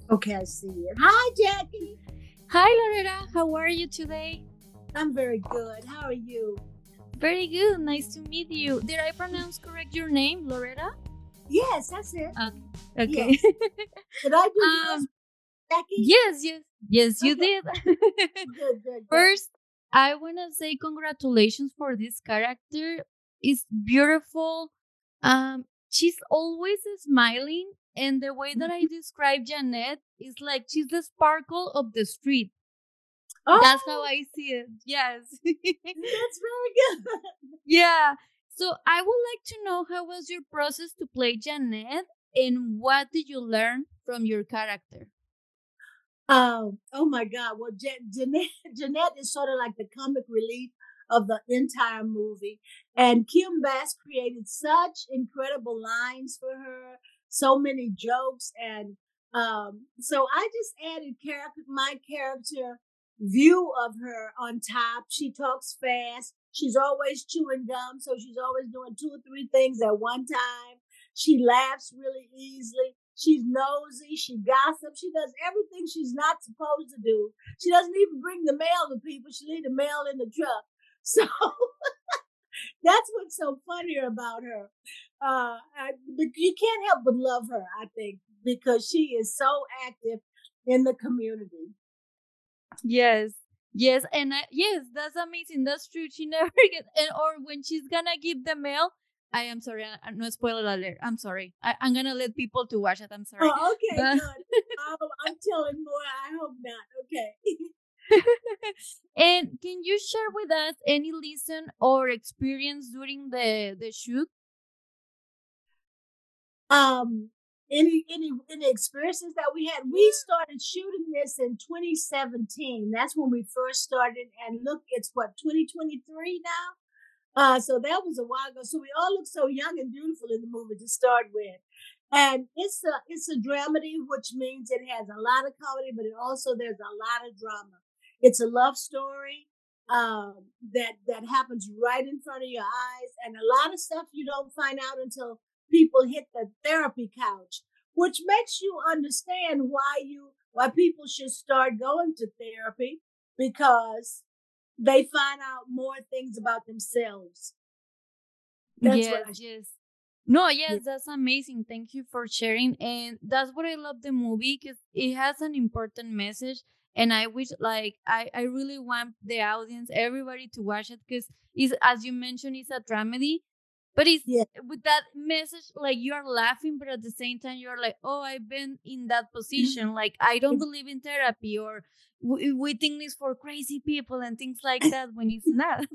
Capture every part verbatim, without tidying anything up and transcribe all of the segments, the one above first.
Okay, I see it. Hi, Jackie. Hi, Loretta. How are you today? I'm very good. How are you? Very good. Nice to meet you. Did I pronounce correct your name, Loretta? Yes, that's it. Okay. Okay. Yes. Did I do yours, um. Jackie? Yes. Yes. Yes, you Okay. did. Good, good, good. First, I wanna say congratulations for this character. It's beautiful. Um. She's always smiling, and the way that I describe Janet is like she's the sparkle of the street. That's how Oh, I see it. Yes. that's very good. Yeah. So I would like to know how was your process to play Janet and what did you learn from your character? Um, oh my God. Well, Je- Jeanette, Jeanette is sort of like the comic relief of the entire movie. And Kim Bass created such incredible lines for her, so many jokes. And um, so I just added character, my character view of her on top. She talks fast. She's always chewing gum. So she's always doing two or three things at one time. She laughs really easily. She's nosy. She gossips. She does everything she's not supposed to do. She doesn't even bring the mail to people. She leaves the mail in the truck. So that's what's so funny about her. Uh, I, you can't help but love her, I think, because she is so active in the community. Yes. Yes, and I, yes, that's amazing. That's true. She never gets, and or when she's gonna give the mail, I am sorry, I, no spoiler alert. I'm sorry. I, I'm gonna let people to watch it. I'm sorry, Oh, okay, but good. Oh, I'm telling more. I hope not. Okay. and can you share with us any lesson or experience during the the shoot? Um, any any any experiences that we had? We started shooting this in twenty seventeen. That's when we first started. And look, it's what, twenty twenty-three now. Uh, so that was a while ago. So we all look so young and beautiful in the movie to start with. And it's a it's a dramedy, which means it has a lot of comedy, but it also there's a lot of drama. It's a love story um, that that happens right in front of your eyes, and a lot of stuff you don't find out until people hit the therapy couch, which makes you understand why you why people should start going to therapy because they find out more things about themselves. That's what Yes, I. yes. No, Yeah. yes, that's amazing. Thank you for sharing. And that's what I love the movie because it has an important message. And I wish, like, I, I really want the audience, everybody to watch it because it's, as you mentioned, it's a dramedy, but it's Yeah. with that message, like, you are laughing, but at the same time, you're like, oh, I've been in that position. Like, I don't believe in therapy or we, we think it's for crazy people and things like that when it's not.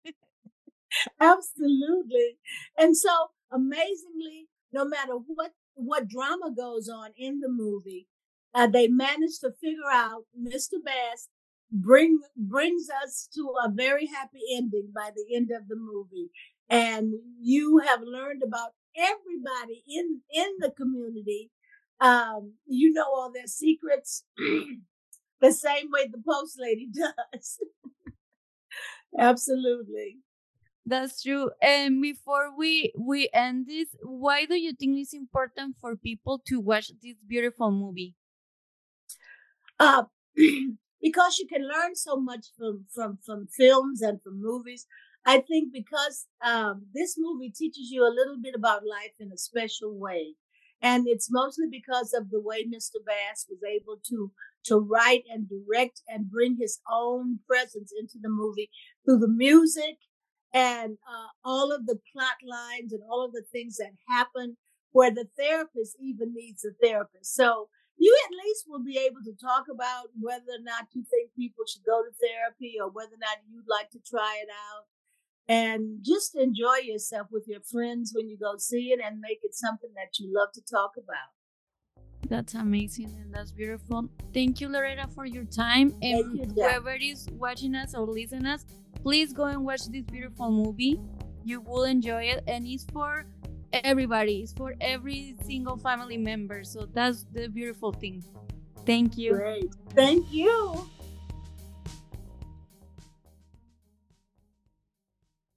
Absolutely. And so amazingly, no matter what what drama goes on in the movie, uh, they managed to figure out mister Bass bring brings us to a very happy ending by the end of the movie. And you have learned about everybody in in the community. Um, you know all their secrets the same way the post lady does. Absolutely. That's true. And before we we end this, why do you think it's important for people to watch this beautiful movie? uh, because you can learn so much from from from films and from movies. I think because um, this movie teaches you a little bit about life in a special way, and it's mostly because of the way mister Bass was able to to write and direct and bring his own presence into the movie through the music and uh, all of the plot lines and all of the things that happen where the therapist even needs a therapist. So you at least will be able to talk about whether or not you think people should go to therapy or whether or not you'd like to try it out and just enjoy yourself with your friends when you go see it and make it something that you love to talk about. That's amazing and that's beautiful. Thank you, Loretta, for your time. Thank And you, Jack. whoever is watching us or listening us, please go and watch this beautiful movie. You will enjoy it, and it's for everybody. It's for every single family member. So that's the beautiful thing. Thank you. Great. Thank you.